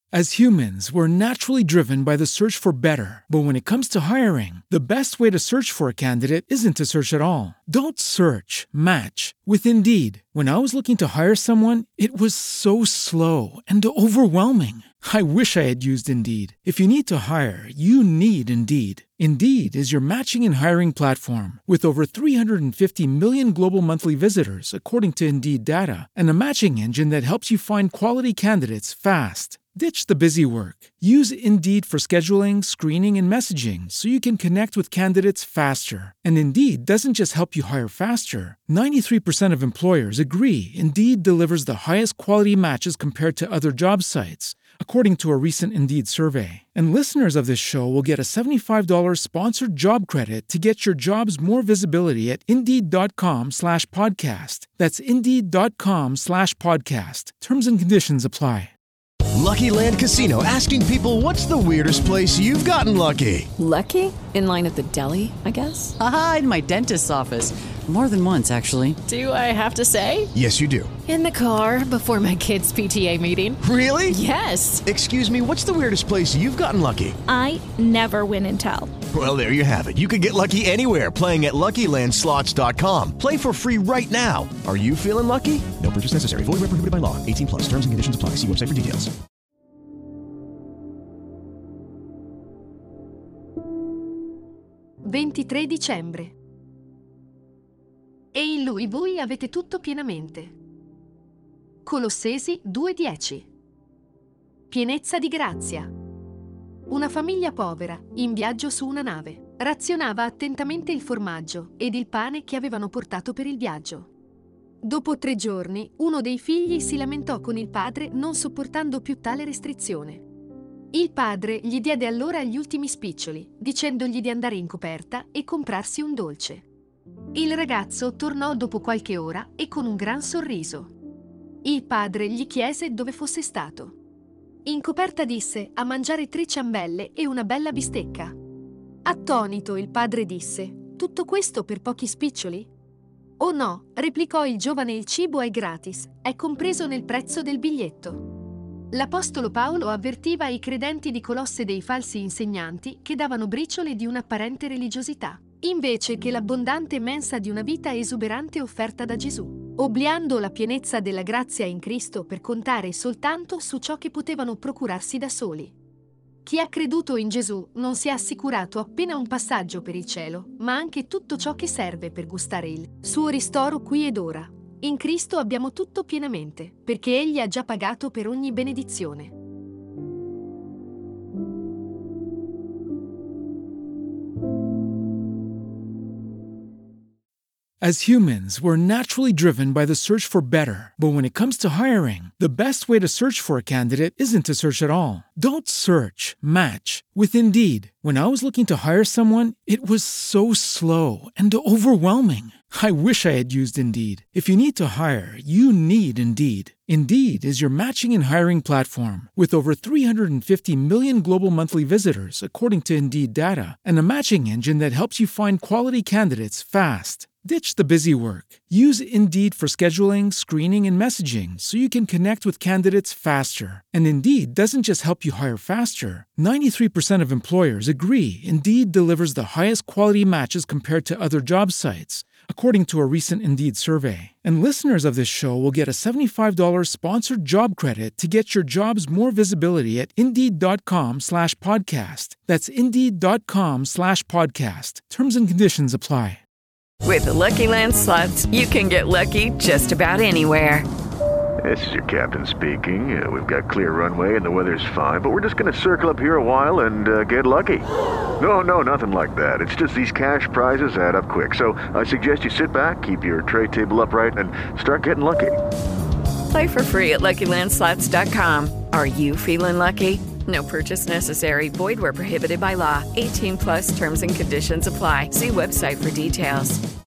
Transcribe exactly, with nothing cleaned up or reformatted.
As humans, we're naturally driven by the search for better. But when it comes to hiring, the best way to search for a candidate isn't to search at all. Don't search, match with Indeed. When I was looking to hire someone, it was so slow and overwhelming. I wish I had used Indeed. If you need to hire, you need Indeed. Indeed is your matching and hiring platform with over three hundred fifty million global monthly visitors, according to Indeed data, and a matching engine that helps you find quality candidates fast. Ditch the busy work. Use Indeed for scheduling, screening, and messaging so you can connect with candidates faster. And Indeed doesn't just help you hire faster. ninety-three percent of employers agree Indeed delivers the highest quality matches compared to other job sites, according to a recent Indeed survey. And listeners of this show will get a seventy-five dollars sponsored job credit to get your jobs more visibility at Indeed.com slash podcast. That's Indeed.com slash podcast. Terms and conditions apply. Lucky Land Casino, asking people, what's the weirdest place you've gotten lucky? Lucky? In line at the deli, I guess? Aha, in my dentist's office. More than once, actually. Do I have to say? Yes, you do. In the car before my kids' P T A meeting. Really? Yes. Excuse me, what's the weirdest place you've gotten lucky? I never win and tell. Well, there you have it. You can get lucky anywhere, playing at Lucky Land Slots dot com. Play for free right now. Are you feeling lucky? No purchase necessary. Void where prohibited by law. eighteen plus. Terms and conditions apply. See website for details. ventitré dicembre. E in lui voi avete tutto pienamente. Colossesi due dieci. Pienezza di grazia. Una famiglia povera, in viaggio su una nave, razionava attentamente il formaggio ed il pane che avevano portato per il viaggio. Dopo tre giorni, uno dei figli si lamentò con il padre non sopportando più tale restrizione. Il padre gli diede allora gli ultimi spiccioli, dicendogli di andare in coperta e comprarsi un dolce. Il ragazzo tornò dopo qualche ora e con un gran sorriso. Il padre gli chiese dove fosse stato. In coperta disse a mangiare tre ciambelle e una bella bistecca. Attonito il padre disse: tutto questo per pochi spiccioli? Oh no, replicò il giovane, il cibo è gratis, è compreso nel prezzo del biglietto. L'apostolo Paolo avvertiva i credenti di Colosse dei falsi insegnanti che davano briciole di un'apparente religiosità, invece che l'abbondante mensa di una vita esuberante offerta da Gesù, obliando la pienezza della grazia in Cristo per contare soltanto su ciò che potevano procurarsi da soli. Chi ha creduto in Gesù non si è assicurato appena un passaggio per il cielo, ma anche tutto ciò che serve per gustare il suo ristoro qui ed ora. In Cristo abbiamo tutto pienamente, perché Egli ha già pagato per ogni benedizione. As humans, we're naturally driven by the search for better. But when it comes to hiring, the best way to search for a candidate isn't to search at all. Don't search, match with Indeed. When I was looking to hire someone, it was so slow and overwhelming. I wish I had used Indeed. If you need to hire, you need Indeed. Indeed is your matching and hiring platform with over three hundred fifty million global monthly visitors, according to Indeed data, and a matching engine that helps you find quality candidates fast. Ditch the busy work. Use Indeed for scheduling, screening, and messaging so you can connect with candidates faster. And Indeed doesn't just help you hire faster. ninety-three percent of employers agree Indeed delivers the highest quality matches compared to other job sites, according to a recent Indeed survey. And listeners of this show will get a seventy-five dollars sponsored job credit to get your jobs more visibility at Indeed.com slash podcast. That's Indeed.com slash podcast. Terms and conditions apply. With the Lucky Land Slots, you can get lucky just about anywhere. This is your captain speaking. Uh, we've got clear runway and the weather's fine, but we're just going to circle up here a while and uh, get lucky. No, no, nothing like that. It's just these cash prizes add up quick. So I suggest you sit back, keep your tray table upright, and start getting lucky. Play for free at Lucky Land Slots dot com. Are you feeling lucky? No purchase necessary. Void where prohibited by law. eighteen plus terms and conditions apply. See website for details.